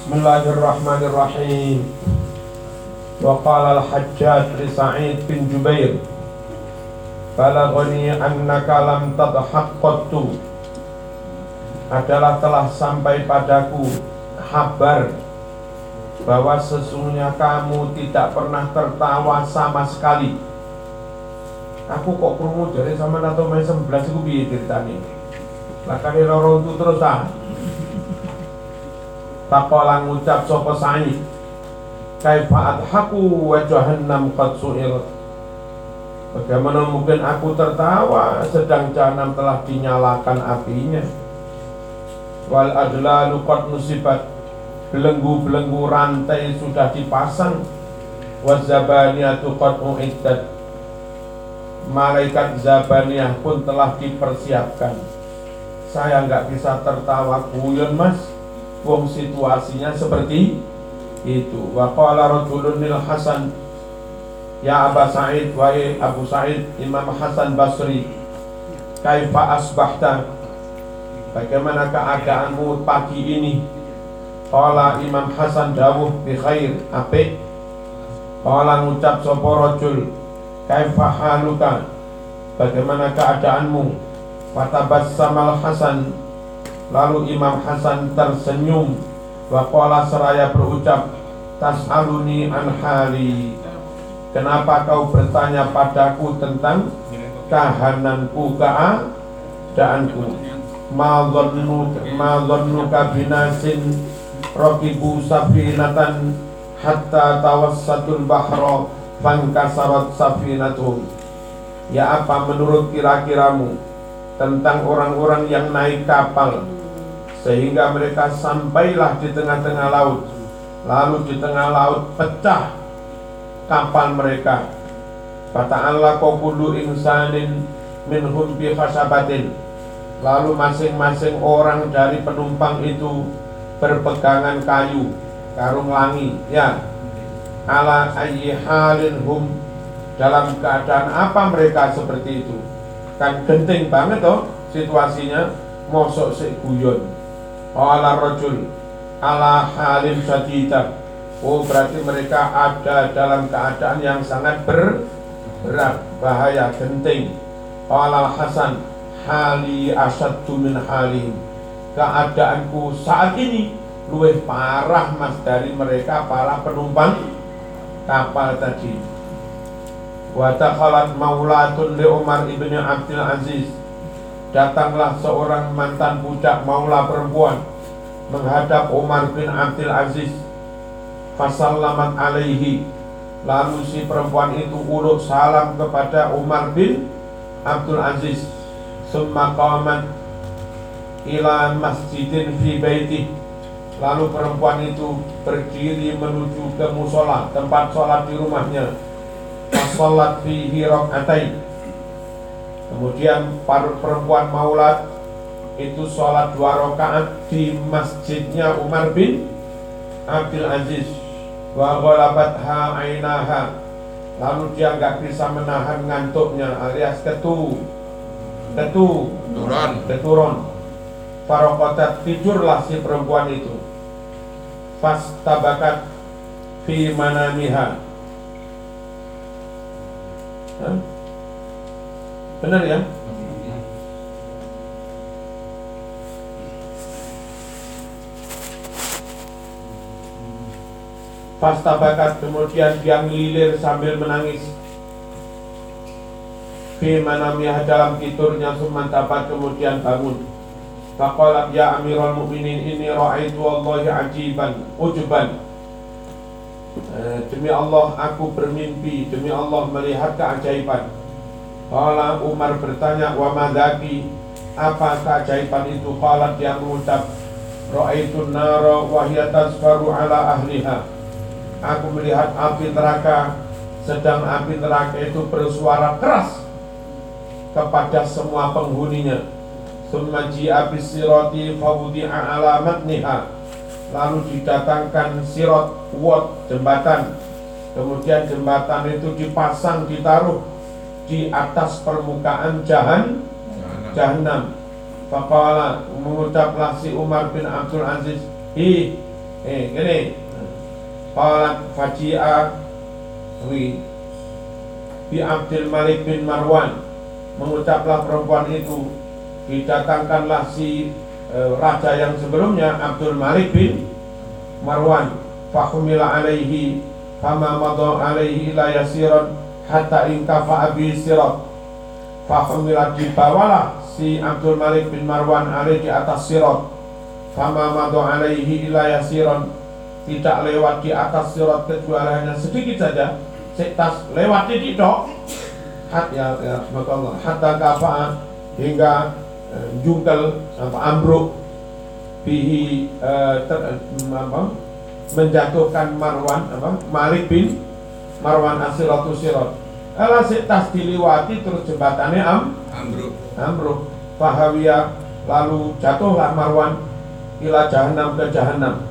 Bismillahirrahmanirrahim. Wa qala al-Hajjaj li Sa'id bin Jubair, balaghani annaka lam tadhak qattu. Adalah telah sampai padaku kabar bahwa sesungguhnya kamu tidak pernah tertawa sama sekali. Aku kok krungu jare sama atau main 11 iku piye ceritane? Lah kare loro itu terus ah. Faqala ngucap sapa Sa'id, kaifa adhaku wa jahannam qad su'irat. Bagaimana mungkin aku tertawa sedang jahanam telah dinyalakan apinya. Wal adlalu qad nusibat, belenggu-belenggu rantai sudah dipasang. Wazabaniyatu qad uiddat, malaikat zabaniyah pun telah dipersiapkan. Saya nggak bisa tertawa guyon mas, wong situasinya seperti itu. Wa qala rajulun lil Hasan, ya Aba Sa'id, wahai Abu Sa'id, Imam Hasan Basri, kaifa asbahta, bagaimana keadaanmu pagi ini? Qala Imam Hasan dawuh bi khair, apik. Qala ngucap sapa rajul, kaifa haluka, bagaimana keadaanmu? Fatabassamal Hasan, lalu Imam Hasan tersenyum. Wa qala seraya berucap, tas'aluni an hali, kenapa kau bertanya padaku tentang kahananku, keadaanku? Ma dhannuka binasin raqibu safinatan hatta tawassatul bahra fankasarat safinatuhum. Ya, apa menurut kira-kiramu tentang orang-orang yang naik kapal sehingga mereka sampailah di tengah-tengah laut, lalu di tengah laut pecah kapal mereka. Fata'alla kullu insanin minhum bi khasabatin, lalu masing-masing orang dari penumpang itu berpegangan kayu, karung langi, ya. Ala ayyi halin hum, dalam keadaan apa mereka seperti itu? Kan genting banget toh situasinya, mosok sik guyon. Ala rajul ala halin syadidah, oh berarti mereka ada dalam keadaan yang sangat berat, bahaya, genting. Ala Hasan, hali asyaddu min halihim, keadaanku saat ini luwih parah mas dari mereka para penumpang kapal tadi. Wa dakhalat maulatun li Umar ibn Abdul Aziz, datanglah seorang mantan budak maula perempuan menghadap Umar bin Abdul Aziz. Fasallamat alaihi, lalu si perempuan itu uluk salam kepada Umar bin Abdul Aziz. Summa qamat ila masjidin fi baitih, lalu perempuan itu berdiri menuju ke musola, tempat sholat di rumahnya. Sholat fihi rakaatain, kemudian perempuan maulat itu sholat 2 rakaat di masjidnya Umar bin Abdul Aziz. Wa ghalabatha ainaha, lalu dia nggak bisa menahan ngantuknya alias keturun. Farokotat, tidurlah si perempuan itu. Fastabakat fi manamiha. Benar ya? Fastabakat, kemudian dia ngelilir sambil menangis. Fi manamiha, dalam tidurnya. Sumantabat, kemudian bangun. Faqalat ya Amirul Mukminin, inni ra'aitu wallahi ajiban ujuban. Demi Allah aku bermimpi, demi Allah melihat keajaiban. Qala, Umar bertanya, wa madaki, apa keajaiban itu? Qalat, dia mengucap, ra'aitun nara wa hiya tasfaru ala ahliha, aku melihat api neraka, sedang api neraka itu bersuara keras kepada semua penghuninya. Tsumma ji'a bis-sirati fawdi'a ala matniha, lalu didatangkan sirat, wad, jembatan. Kemudian jembatan itu dipasang, ditaruh di atas permukaan jahanam. Faqala, mengucaplah si Umar bin Abdul Aziz, Gini. Qalat faji'a bi Abdul Malik bin Marwan, mengucaplah perempuan itu, didatangkanlah si raja yang sebelumnya Abdul Malik bin Marwan, fahumila alaihi fama madha alaihi ila yasiran hatta inkafa abi sirat, fahumila, dibawalah si Abdul Malik bin Marwan alaihi di atas sirat, fama madha alaihi ila yasiran, tidak lewat di atas sirat kecuali hanya sedikit saja, setas lewat di tok, hatta kafa, hingga jungkel ambruk bihi, menjatuhkan Marwan Malik bin Marwan asiratu sirat. Ala setas diliwati terus jembatannya ambruk. Fahawiya, lalu jatuhlah Marwan ila jahannam, ke jahannam.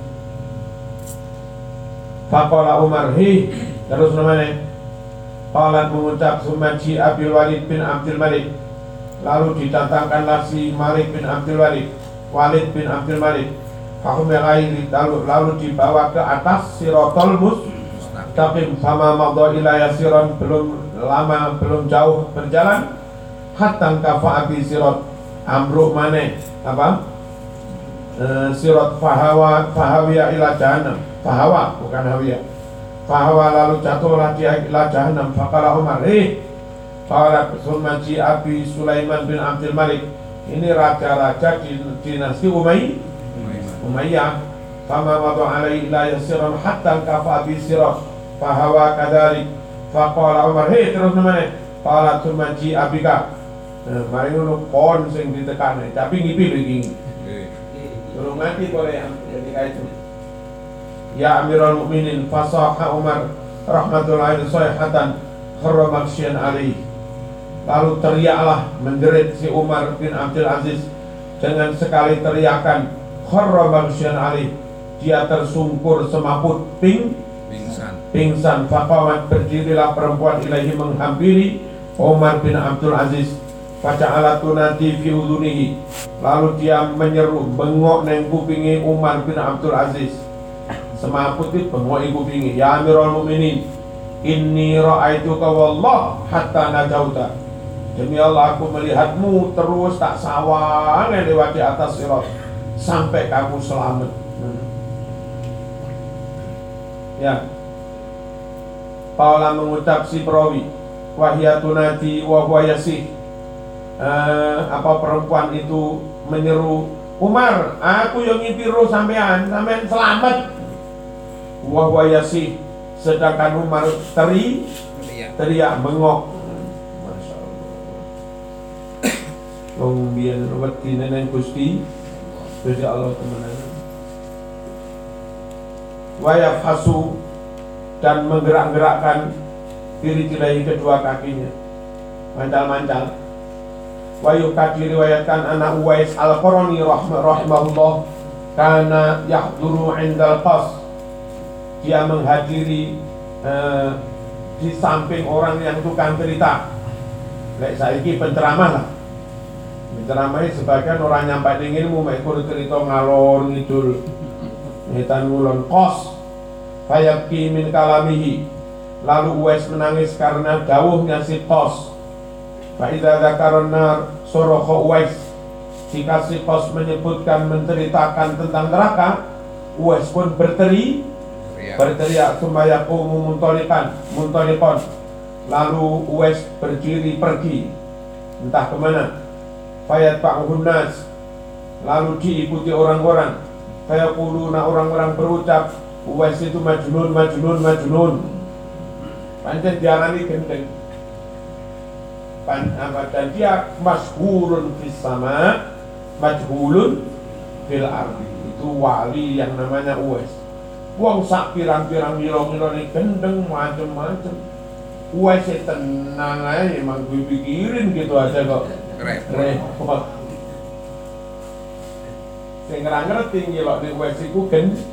Faqala Umar, terus namanya qalat, mengucap, sumaji Abil Walid bin Abdul Malik, lalu didatangkanlah si Malik bin Abdul Walid bin Abdul Malik, lalu dibawa ke atas sirotol mustaqim, sama madha ila yasiran, belum jauh berjalan, hatta kafa abi sirat, ambruk maneh sirat, fahawiya ila jahannam, fahawa bukan hawiya, fahawa, lalu jatuhlah dia ila jahannam. Faqala Umar, qala sumaji abi Sulaiman bin Abdul Malik, ini raja-raja di dinasti Umayyah, fama madha alaihi ila yasiran hatta kafa abi sirat, fahawa kadalik. Faqala Umar, terus namanya qala sumaji abika, mari ngono kon sing ditekan, tapi ngipi lho iki. Belum mati boleh ketika itu. Ya Amirul Mukminin, fasaha Umar rahmatullahi sayhatan kharra maksyan alaihi, lalu teriaklah, menjerit si Umar bin Abdul Aziz dengan sekali teriakan, kharra maksyan alaihi, dia tersungkur semaput pingsan. Faqamat, berdirilah perempuan ilahi, menghampiri Umar bin Abdul Aziz. Faja'alat tunadi fi udhunihi, lalu dia menyeru, bengok neng kupingi Umar bin Abdul Aziz. Semaput itu bengok kupingi, ya Amirul Mukminin, inni ra'aituka wallah hatta najauta, demi Allah aku melihatmu terus tak sawang lewat di atas sirat sampai kamu selamat. Ya, Paula mengucap si perawi, wahyatunati wa huwa yasih, perempuan itu menyeru, Umar, aku yang ngipiru sampean selamat. Wa huwa yasih, sedangkan Umar teriak bengok. Masya Allah. Wong biyen wedi nenen Gusti Allah temenan. Wa yafhasu, dan menggerak-gerakkan diri kedua kakinya, mancal-mancal. Wa yukati, riwayatkan anak Uwais al-Qarani rahimahullah, kana yahduru indal qas, dia menghadiri di samping orang yang tukang cerita. Lek saiki penceramah lah, penceramah sebagian orang nyampaikan ilmu, mek cerita ngalor ngidul ngetan ngulon qas. Fayabki min kalamihi, lalu Uwais menangis karena dawuhnya si qas. Fa idza dzakaran nar suraha Uwais, jika si qas menyebutkan, menceritakan tentang neraka, Uwais pun berteriak, sumayaqumu muntaliqan, lalu Uwais berdiri pergi entah kemana. Fayatba'uhun nas, lalu diikuti orang-orang. Fayaquluna, orang-orang berucap, Uwais itu majnun. Pancen diarani gendeng. Dan dia masyhurun fis sama, majhulun fil ardi. Itu wali yang namanya Uwais. Wong sak pirang-pirang milo-milo ini gendeng macem-macem. Uwais tenang aja, emang gue pikirin gitu aja kok. Repot. Sing ngerti ngilok di Uwais iku gendeng.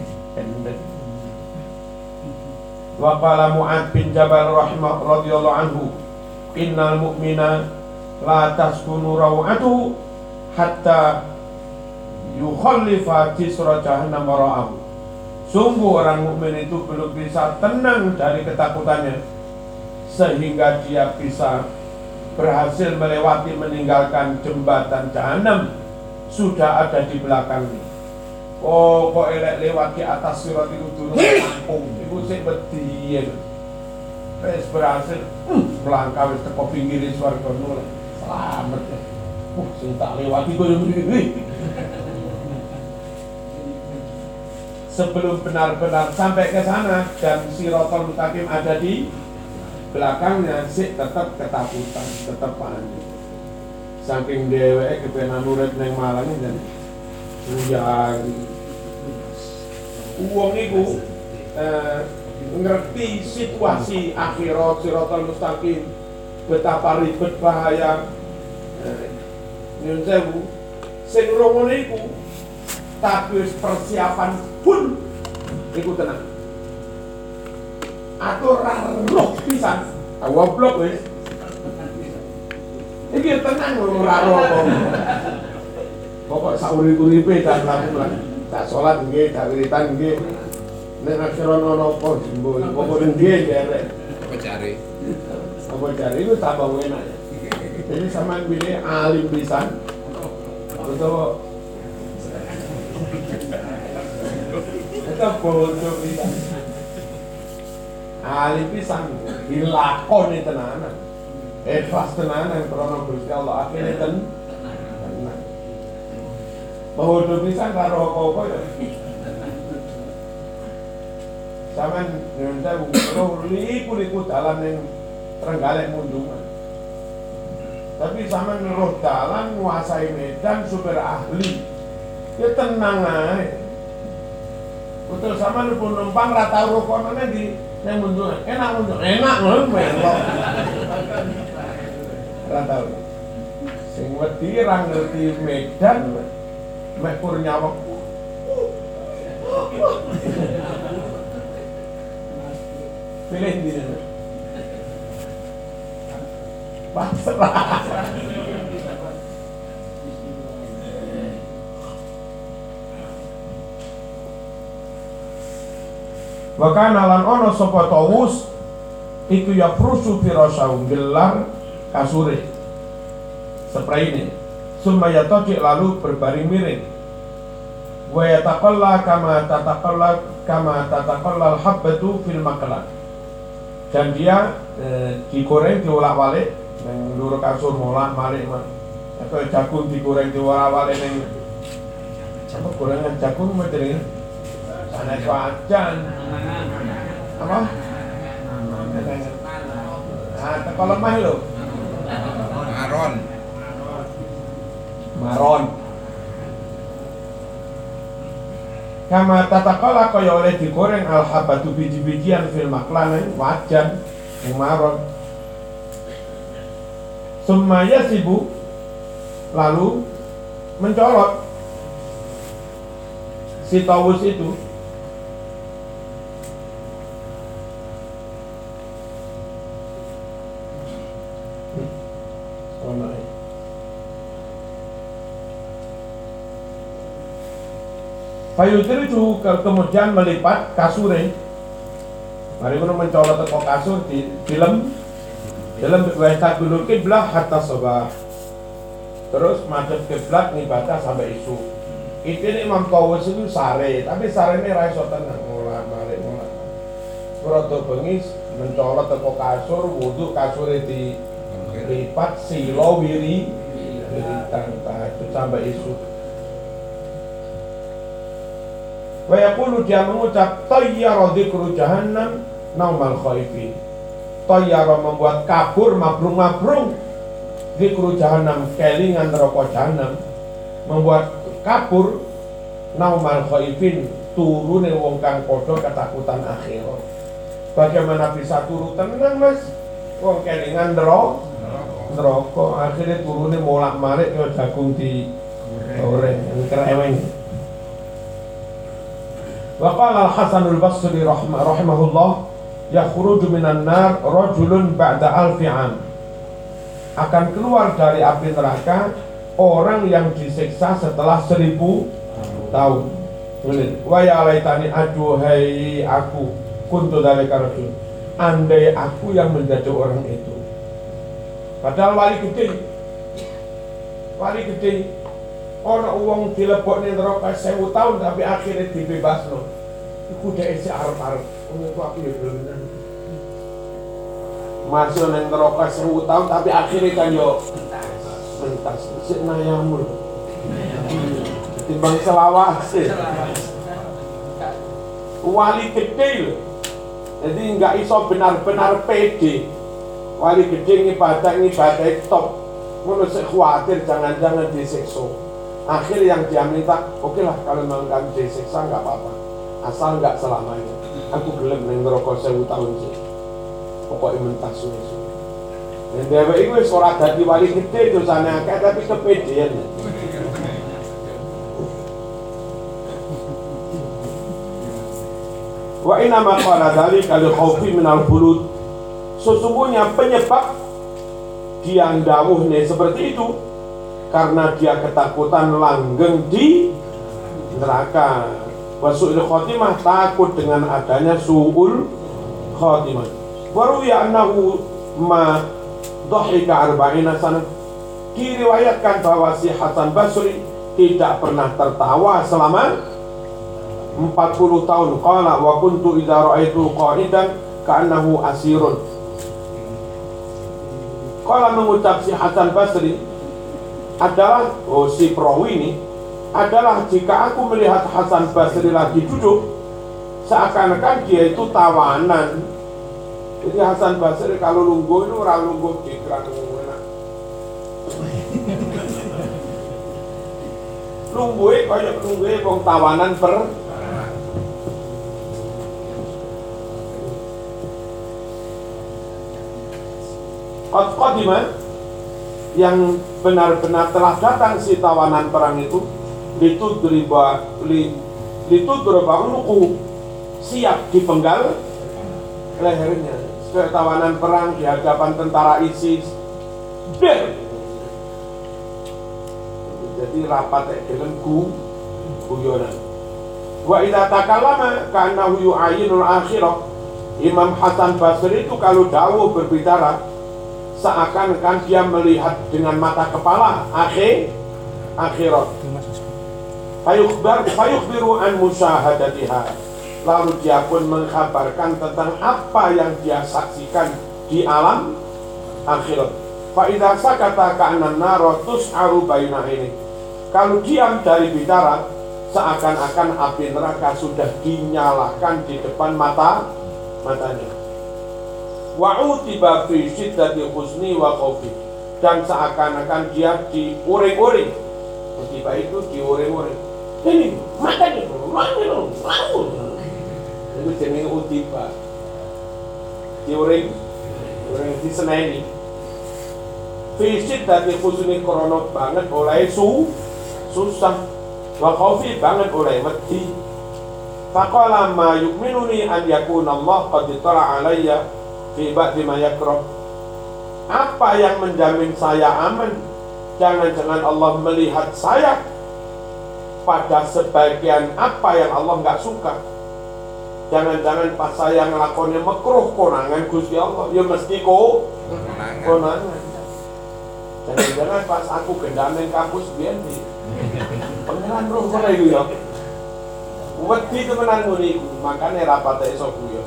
Wa qala Mu'ad bin Jabal radhiyallahu anhu, innal mu'mina la taskunu raw'atuhu hatta yukhallifa jisra jahannam wara'ahu. Sungguh orang mukmin itu belum bisa tenang dari ketakutannya sehingga dia bisa berhasil melewati meninggalkan jembatan jahanam sudah ada di belakangnya. Oh, kok elek lewat di atas sirat itu turun kampung, itu sih bedian. Wes berhasil melangkah wis teko pinggir swarga nol. Selamat ya. Sing tak lewati koyo ngene. Sebelum benar-benar sampai ke sana dan Siratal Mustaqim ada di belakangnya, sih tetap ketakutan, tetap panik. Saking dheweke kepenan urip ning Malang dan yang wong iku ngerti situasi akhirat Siratal Mustaqim, betapa ribet bahaya. Nyun sewu, sing ngono iku tapi persiapan pun iku tenang. Atur roh pisan, goblok wis. Iki tenang ora roh. Pokok saurip-uripe tak mlaku-mlaku. Tak salat nggih, tak wiritan nggih. Nek akhiran ono apa jembul, pokok nggih derek. Apa cari? Apa cari itu tambah enak. Jadi sampean pilih alim pisan. Atau kita bodoh pisan. Alim pisan dilakoni tenanan. Ikhlas tenanan krana Gusti Allah akhire tenang. Bodoh pisan karo apa-apa ya. Sampeyan nyuwun sewu liku dalan ning Trenggalek Mundungan. Tapi sampeyan ngeruh dalan nguasai medan super ahli. Ya tenang ae. Betul sama lu pun numpang rata rukonane di yang Mundungan. Enak ngono melok. Rata. Sing wedi ra ngerti medan mek Kurniawak. Pilih di sana. Pasrah. Bahkan alan ono sapa Tawus iku ya prusu firasau gelar kasure sepraine sumaya toji lalu berbaring miring wa yataqalla kama tataqalla al-habbatu fil maqla dan dia digoreng diolak-walik nang nduro kasur molak-malik atau jagung digoreng diolak-walik ning apa gorengan jagung medene sanes wajan apa? Nah, teko lemah lho. Maron. Kama tatakala kaya oleh digoreng al-habatu biji-bijian fil maklanan wajan yang maron. Sumaya sibuk lalu mencolot si Tawus itu Payudri itu kemudian melipat kasure. Mari kita mencolot teko kasur di film wajah dulu kiblah hatta sabah. Terus madhep kiblat ngibadah sampai isu. Ini Imam Tawus itu sare, tapi sare ini ra iso tenang mulak-malik. Rada bengi mencolot teko kasur, wudu kasure dilipat silo wiritan tahajud sampai isu. Wa yaqulu dia mengucap tayyara dzikru jahannam naumal khaifin. Tayyara membuat kabur mabrung-mabrung dzikru jahannam kelingan neraka jahannam membuat kabur naumal khaifin turune wong kang padha ketakutan akhirat. Bagaimana bisa turu tenang Mas? Wong kelingan neraka akhirnya turune molak-malik kaya jagung di goreng kreweng. Wa qala al-Hasan al-Basri rahimahullah yakhruju minan nar rajulun ba'da alfi 'am. Akan keluar dari api neraka orang yang disiksa setelah 1000 tahun. Wa ya laitani aduhai aku kuntu dzalika rajul. Andai aku yang menjadi orang itu. Padahal wali gede. Ana wong dilebokne neraka 1000 tahun tapi akhirnya dibebasno. Iku dhek isih arep-arep. Ngono ku aku ya bener. Masuk nang neraka 1000 tahun tapi akhirnya kan yo mentas sik nayamul. Timbang selawase. Wali gede lho. Jadi enggak iso benar-benar pede. Wali gede ngibadah top. Ngono sik khawatir jangan-jangan disiksa. Akhir yang dia minta, oke lah kalau memang kamu disiksa enggak apa-apa. Asal enggak selamanya. Aku gelem ning neraka 1000 tahun sih. Pokoke mentas suwe-suwe. Dan dheweke iku wis ora dadi wali gede dosane akeh tapi kepedean. Wa inna ma qala dzalika li khaufi minal khulud. Sesungguhnya penyebab dia ndawuhne seperti itu karena dia ketakutan langgeng di neraka. Wa su'il khotimah, takut dengan adanya su'ul khotimah. Wa ruwiya annahu ma dhahika 40 sanah. Diriwayatkan bahwa si Hasan Basri tidak pernah tertawa selama 40 tahun. Qala wa kuntu idza ra'aitu qa'idan ka'annahu asirun. Qala mengucap si Hasan Basri adalah si perawi ini adalah jika aku melihat Hasan Basri lagi duduk seakan-akan dia itu tawanan. Jadi Hasan Basri kalau lungguh itu ora lungguh dikran enak. Lungguhe kaya lungguhe wong tawanan per Qadimah yang benar-benar telah datang si tawanan perang itu ditudriba unuku, siap dipenggal lehernya. Sebagai tawanan perang di hadapan tentara ISIS. Jadi rapat dengan guyonan. Wa idza takallama ka'annahu yu'ayyinul akhirah. Imam Hasan Basri itu kalau dawuh berbicara seakan-akan dia melihat dengan mata kepala akhirat. Fayukhbiru an musyahadatiha. Lalu dia pun mengkabarkan tentang apa yang dia saksikan di alam akhirat. Fa idza sakata ka'annan nara tus'aru baina ini. Kalau diam dari bicara seakan-akan api neraka sudah dinyalakan di depan matanya. Wa'utiba fi syiddati husni wa khaufi, dan seakan-akan dia diuring-uring. Utiba itu diuring-uring. Ini matanya itu jenenge utiba. Diuring diseneni. Fi syiddati husni krono banget oleh susah. Wa khaufi banget oleh wedi. Faqala ma yu'minuni an yakuna Allah qad tala alayya fi ba'di ma yakrah. Apa yang menjamin saya aman? Jangan-jangan Allah melihat saya pada sebagian apa yang Allah nggak suka. Jangan-jangan pas saya ngelakonnya makruh konangan Gusti Allah, ya mesti konangan. Jangan-jangan pas aku gendamen kampus biyen di pengeran roh ngono iku ya. Wedi temenan ngono iku, makane rapate iso guyon.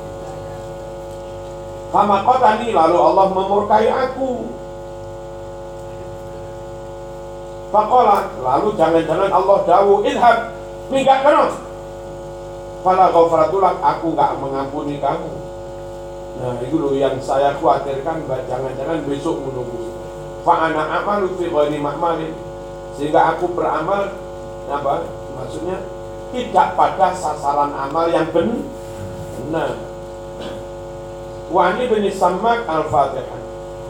Fama qatani, lalu Allah memurkai aku. Faqala, lalu jangan-jangan Allah dawuh idhab, minggat kana. Fala ghafaratulak, aku enggak mengampuni kamu. Nah, itu loh yang saya khawatirkan, jangan-jangan besok menunggu. Fa ana amalu fi ghairi ma'malin, sehingga aku beramal apa? Maksudnya tidak pada sasaran amal yang benar. Wa ani bin Sammak al-Fatihah.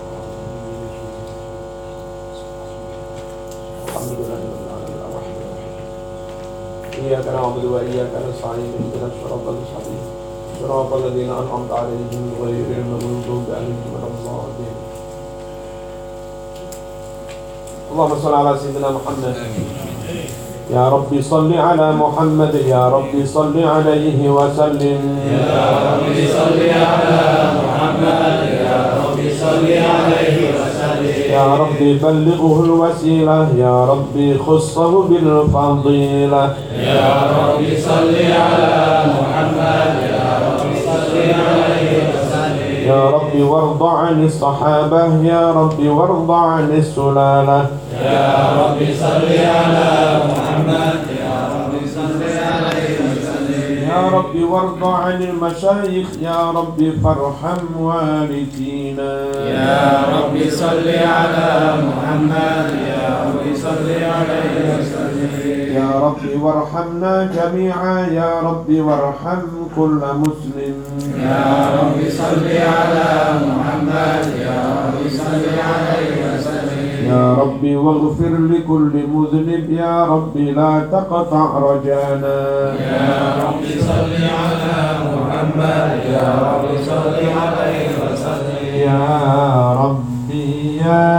Iyyaka na'budu wa iyyaka nasta'in ihdinas siratal mustaqim siratal ladzina an'amta 'alaihim ghairil maghdubi 'alaihim waladdallin. Allahumma shalli ala sayyidina Muhammad يا رب صل على محمد يا رب صل عليه وسلم يا رب صل على محمد يا رب صل عليه وسلم يا رب بلغه الوسيلة يا رب خصه بالفضيلة يا رب صل على محمد يا رب صل عليه وسلم يا رب وارض عن الصحابة يا رب وارض عن السلالة يا رب صل على محمد يا رب صل عليه وسلم يا رب وارض عن المشايخ يا رب فارحم والدينا يا رب صل على محمد يا رب صل عليه وسلم يا رب وارحمنا جميعا يا رب وارحم كل مسلم يا رب صل على محمد يا رب صل عليه وسلم يا رب واغفر لكل مذنب يا رب لا تقطع رجانا يا رب صل على محمد يا رب صل عليه وسلم يا ربي يا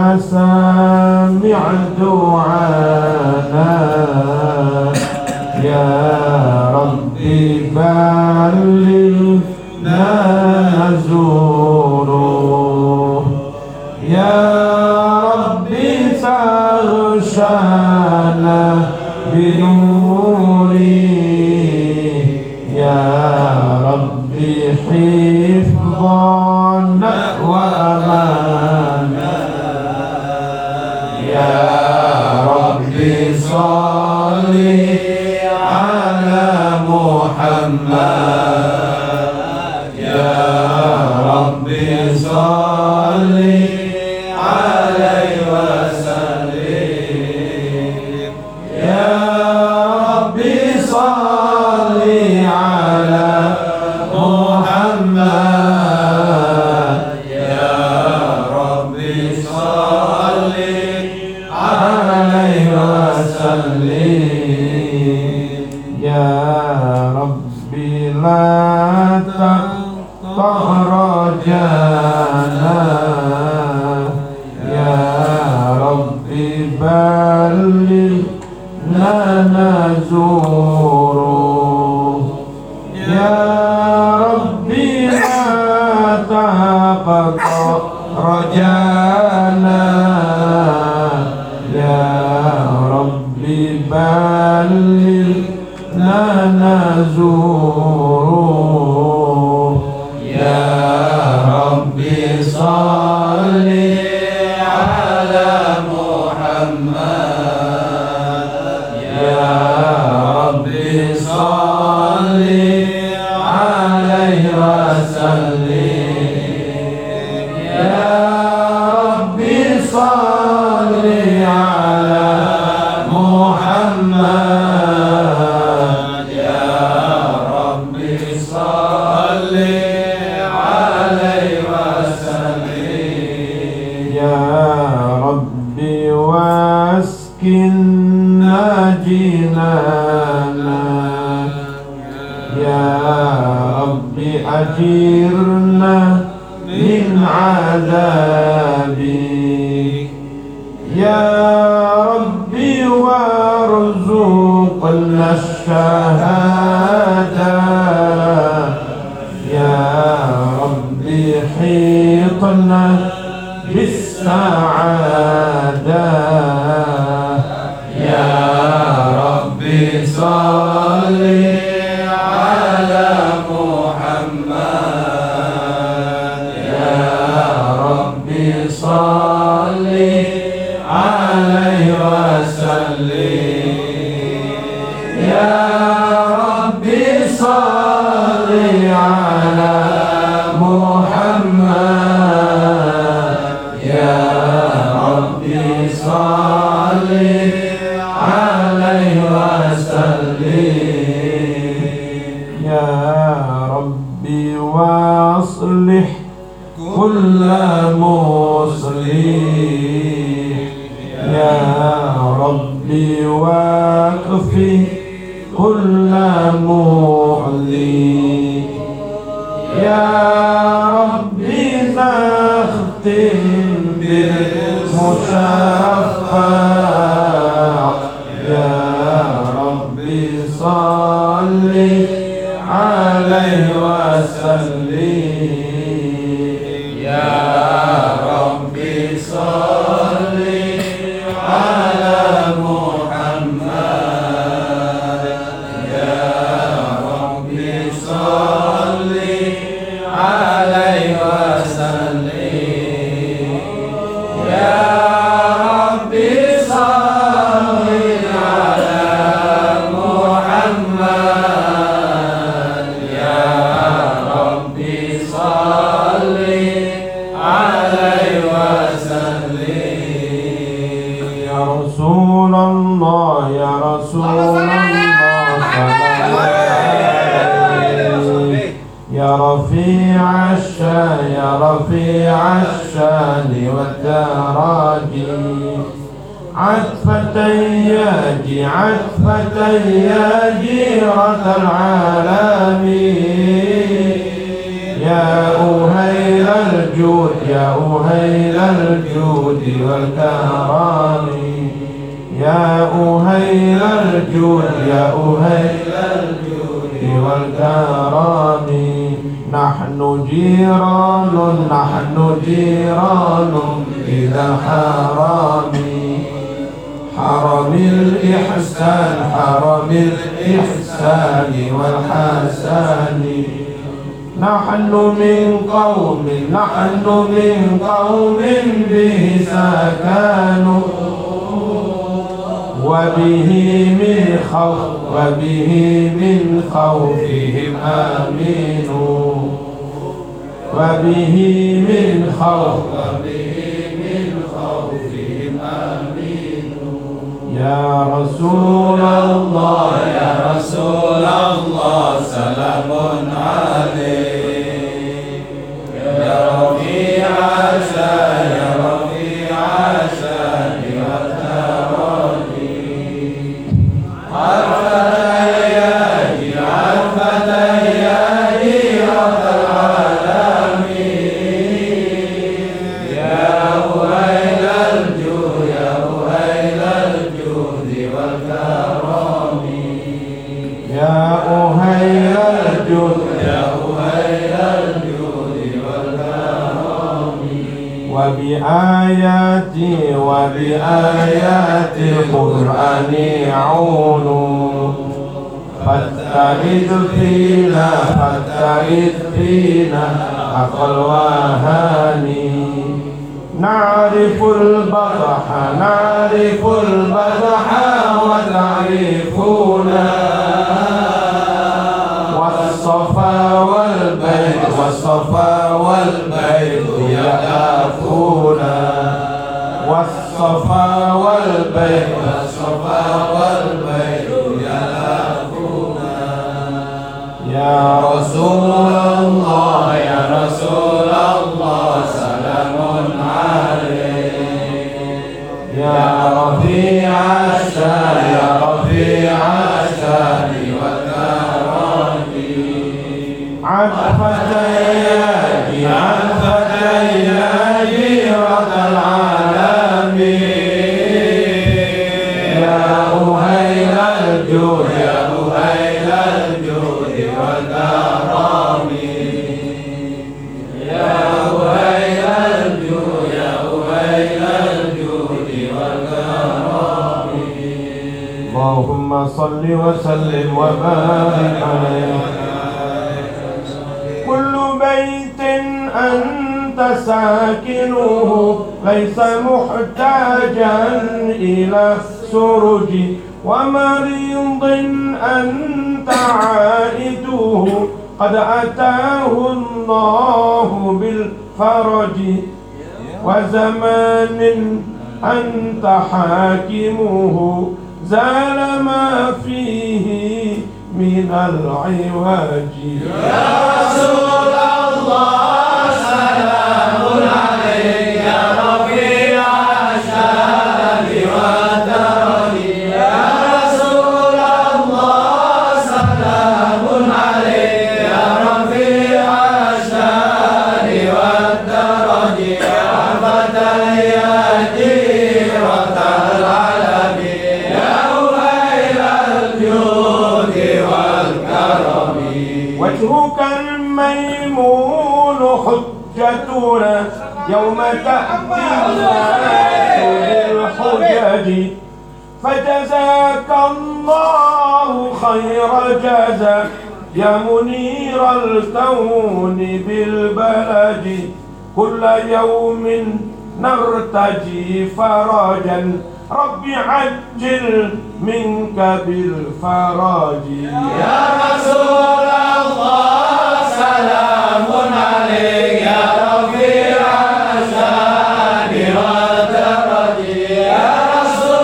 سامع دعانا يا ربي بلغنا نزوره يا ربي تغشانا بنوره يا ربي حفظنا وأمانا يا ربي صل على محمد يا ربي صل عليه وسلم يا ربي صل على محمد يا ربي صل عليه وسلم يا ربي لا تقطع رجانا يا ربي بلغنا نزوره يا ربي لا تقطع رجانا يا ربي بلغنا نزوره يا ربي صل على محمد يا ربي صل عليه وسلم يا ربي صل على محمد يا ربي صل عليه وسلم يا ربي واسكننا جنانا يا ربي أجرنا من عذابك يا ربي وارزقنا الشهادة يا ربي حيطنا بالسعادة يا ربي صل على محمد يا ربي صل عليه وسلم يا ربي صل على محمد يا ربي صل عليه وسلم يا ربي واصلح كل مصلح يا ربي واكفي كل معذي يا ربي نختم بالمشفع يا رسول الله يا رسول الله سلام عليك يا رفيع الشان يا رفيع الشان والدرج عطفة ياجي عطفة يا جيرة العالمين يا أهيل الجود يا أهيل الجود والكرم يا أهيل الجود يا أهيل الجود والكرم نحن جيران إلى الحرام حرم الإحسان والحسن نحن من قوم به سكنوا وبه من خوفهم آمنوا وبه من خوفهم آمنوا يا رسول الله يا رسول الله سلام عليك يا رفيع الشان يا رفيع الشان وبآيات القرآن عونوا فاتعذ فينا حق الوهاني نعرف البطح وتعرفنا والصفا والبيت يقافونا والصفا والبيت يقافونا يا رسول الله يا رسول الله سلام عليك يا رفيع الشان يا رفيع الشان والكرم عطفة يا جيرة العالمين يا أهيل الجود يا أهيل الجود والكرم يا أهيل الجود يا أهيل الجود والكرم اللهم صل وسلم وبارك عليه كل بيت أنت ساكنه ليس محتاجا إلى سرج ومريض أنت عائده قد أتاه الله بالفرج وزمان أنت حاكمه زال ما فيه من العوج يا رسول الله سلام عليك يا رفيع الشان والدرج يا رسول الله سلام عليك يا رفيع الشان والدرج يا رحمة يا جيرة العالم يا أهيل الجود والكرم وجهك الميمون حجتنا يوم تأتي الناس بالحجج فجزاك الله خير جزاء يا منير الكون بالبلد كل يوم نرتجي فرجا رب عجل منك بالفرج يا رسول الله سلام عليك يا رفيع الشان والدرج يا رسول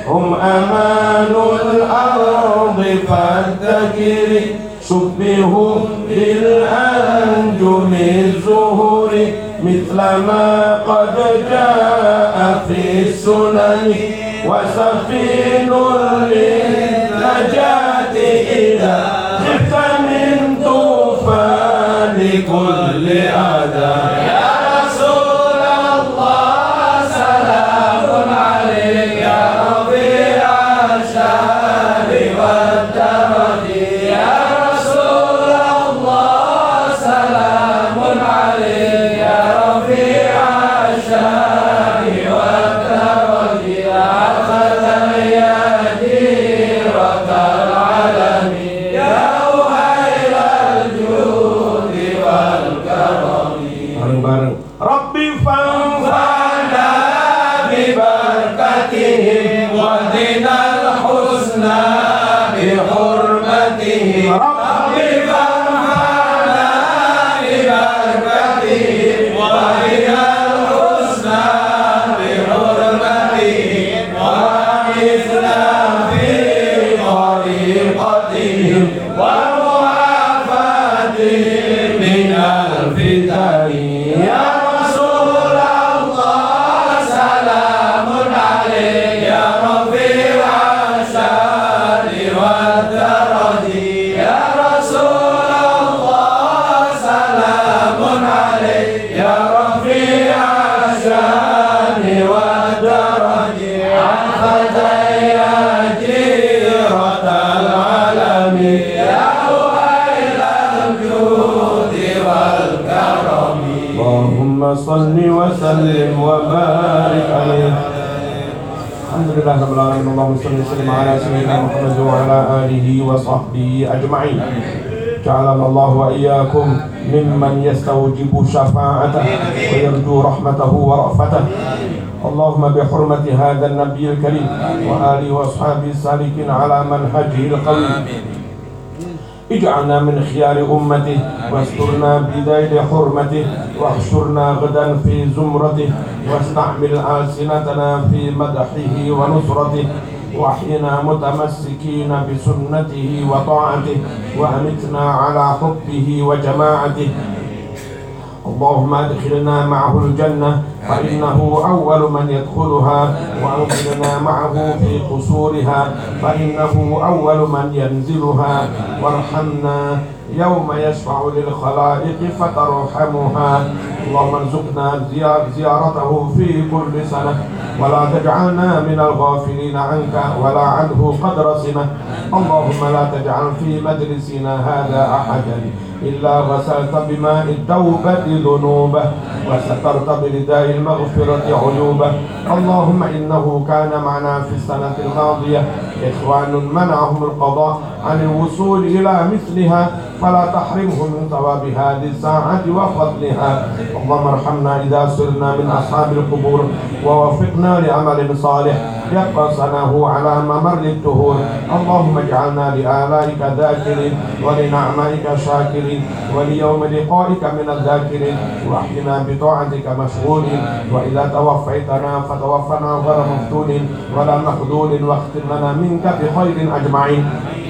هم أمان الأرض فالذكر شبهوا بالأنجم الزهور مثل ما قد جاء في السنن وسفين للنجاة إذا خفت من طوفان كل أذى. يا رسول الله سلام عليك يا رفيع الشان والدرج. يا رسول الله سلام عليك يا رفيع الشان والدرج. أخذ يا جيرة العالم يا وهيل الجود والكرم. ربي فانفعنا ببركتهم ودنا الحسنى بحرمتهم. ربي فانفعنا ببركتهم ودنا الحسنى بحرمتهم وأعزنا في طريقتهم ومعافاتهم من الفتن. يا رسول الله سلام عليك يا رفيع الشان والدرج. يا رسول الله سلام عليك يا رفيع الشان والدرج. أخذ يا جيرة العالم يا وهيل الجود والكرم. اللهم صل وسلم وبارك عليه. الحمد لله رب العالمين. اللهم صل وسلم على سيدنا محمد وعلى آله وصحبه أجمعين. جعلنا الله وإياكم ممن يستوجب شفاعته ويرجو رحمته ورأفته. اللهم بحرمة هذا النبي الكريم وآله وأصحابه السالكين على منهجه القويم اجعلنا من خيار أمته واسترنا بذيل حرمته واحشرنا غدا في زمرته واستعمل ألسنتنا في مدحه ونصرته واحينا متمسكين بسنته وطاعته وأمتنا على حبه وجماعته. اللهم ادخلنا معه الجنة فإنه أول من يدخلها وأنزلنا معه في قصورها فإنه أول من ينزلها وارحمنا يوم يشفع للخلائق فترحمها. اللهم ارزقنا زيارته في كل سنة ولا تجعلنا من الغافلين عنك ولا عنه قدر سنة. اللهم لا تجعل في مجلسنا هذا أحدا إلا غسلت بماء التوبة ذنوبه وسترت برداء المغفرة عيوبه. اللهم إنه كان معنا في السنة الماضية إخوان منعهم القضاء عن الوصول إلى مثلها فلا تحرمهم من ثواب هذه الساعة وفضلها. اللهم ارحمنا إذا صرنا من أصحاب القبور ووفقنا لعمل صالح يبقى ثناه على ممر الدهور. اللهم اجعلنا لآلائك ذاكرين ولنعمائك شاكرين وليوم لقائك من الذاكرين واحينا بطاعتك مشغولين. وإذا توفيتنا فتوفنا غير مفتونين ولا مخذول واختم لنا منك بخير أجمعين.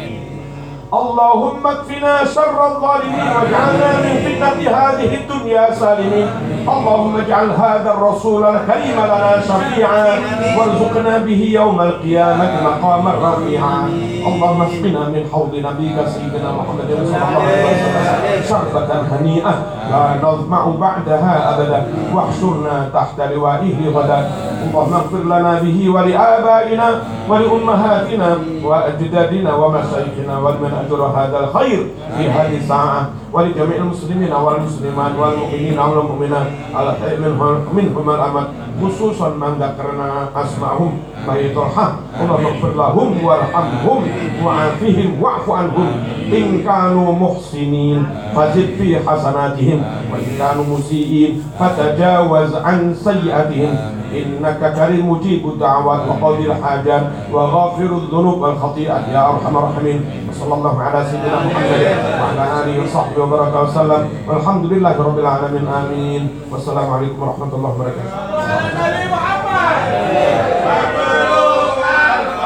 اللهم اكفنا شر الظالمين واجعلنا من فتنة هذه الدنيا سالمين. اللهم اجعل هذا الرسول الكريم لنا شفيعا وارزقنا به يوم القيامة مقاما رفيعا. اللهم اسقنا من حوض نبيك سيدنا محمد صلى الله عليه وسلم شربة هنيئة لا نظمع بعدها أبدا واحشرنا تحت لوائه غدا. اللهم اغفر لنا به ولآبائنا ولأمهاتنا وأجدادنا ومشايخنا ولمن أجر هذا الخير في هذه الساعة ولجميع المسلمين والمسلمات والمؤمنين والمؤمنات الأحياء منهم الأموات خصوصا من ذكرنا أسماءهم فيترحم. اللهم اغفر لهم وارحمهم وعافهم واعف عنهم إن كانوا محسنين فزد في حسناتهم وإن كانوا مسيئين فتجاوز عن سيئاتهم إنك كريم مجيب الدعوات وقاضي الحاجات وغافر الذنوب والخطيئات يا أرحم الراحمين. وصلى الله على سيدنا محمد وعلى آله وصحبه وبارك وسلم والحمد لله رب العالمين آمين. والسلام عليكم ورحمة الله وبركاته.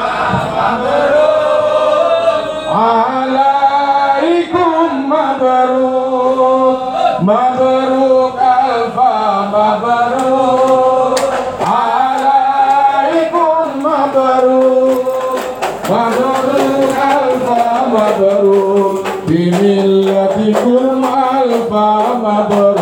alaikum mabruk, mabruk alfa mabruk, alaikum mabruk, mabruk alfa mabruk, bimillatikum alfa mabruk.